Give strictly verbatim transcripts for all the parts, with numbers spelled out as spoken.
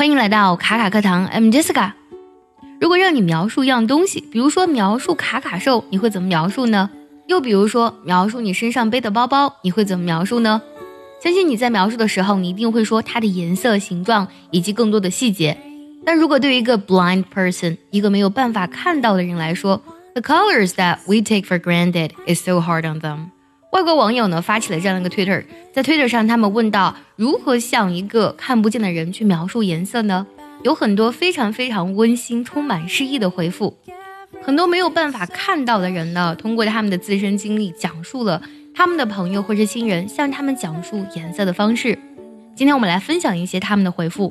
欢迎来到卡卡课堂 I'm Jessica。 如果让你描述一样东西，比如说描述卡卡兽，你会怎么描述呢？又比如说描述你身上背的包包，你会怎么描述呢？相信你在描述的时候，你一定会说它的颜色、形状以及更多的细节。但如果对于一个 blind person， 一个没有办法看到的人来说， The colors that we take for granted is so hard on them。 外国网友呢发起了这样的一个 Twitter， 在 Twitter 上他们问到如何向一个看不见的人去描述颜色呢？有很多非常非常温馨充满诗意的回复。很多没有办法看到的人呢，通过他们的自身经历讲述了他们的朋友或是亲人向他们讲述颜色的方式。今天我们来分享一些他们的回复。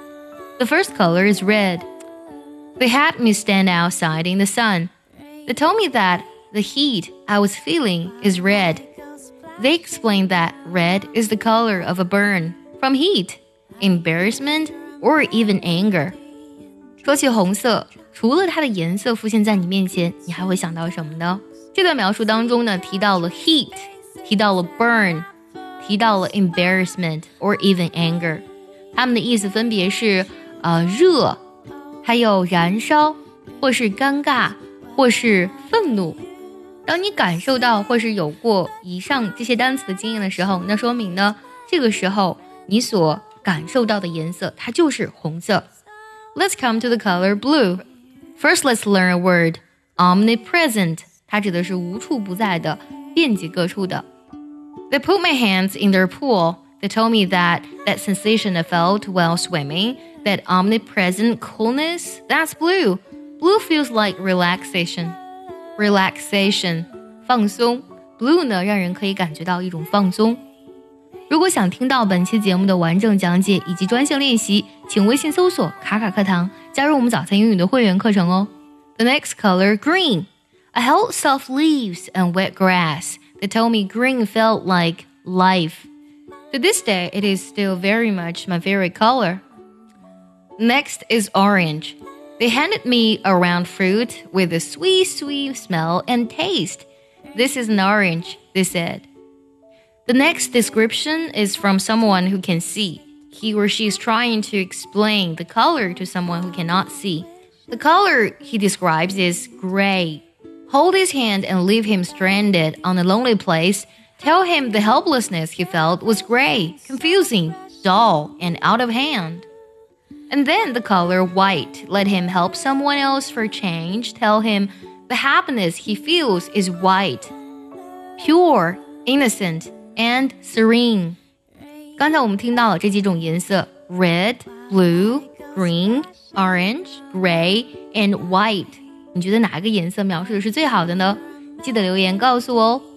The first color is red. They had me stand outside in the sun. They told me that the heat I was feeling is red. They explained that red is the color of a burn from heat, embarrassment, or even anger. 说起红色，除了它的颜色浮现在你面前，你还会想到什么呢？这段描述当中呢，提到了 heat， 提到了 burn， 提到了 embarrassment or even anger。 它们的意思分别是呃热，还有燃烧，或是尴尬，或是愤怒。当你感受到或是有过以上这些单词的经验的时候，那说明呢，这个时候你所感受到的颜色它就是红色。 Let's come to the color blue. First, let's learn a word, omnipresent. 它指的是无处不在的，遍及各处的。 They put my hands in their pool. They told me that that sensation I felt while swimming, that omnipresent coolness, that's blue. Blue feels like relaxation. Relaxation, 放松。 Blue 呢，让人可以感觉到一种放松。如果想听到本期节目的完整讲解以及专项练习，请微信搜索卡卡课堂，加入我们早餐英语的会员课程哦。 The next color, green. I held soft leaves and wet grass. They told me green felt like life. To this day, it is still very much my favorite color. Next is orange. They handed me a round fruit with a sweet, sweet smell and taste. This is an orange, they said. The next description is from someone who can see. He or she is trying to explain the color to someone who cannot see. The color he describes is gray. Hold his hand and leave him stranded on a lonely place. Tell him the helplessness he felt was gray, confusing, dull, and out of hand. And then the color white. Let him help someone else for change. Tell him the happiness he feels is white, pure, innocent, and serene. 刚才我们听到了这几种颜色 red, blue, green, orange, gray, and white. 你觉得哪个颜色描述的是最好的呢？记得留言告诉我哦。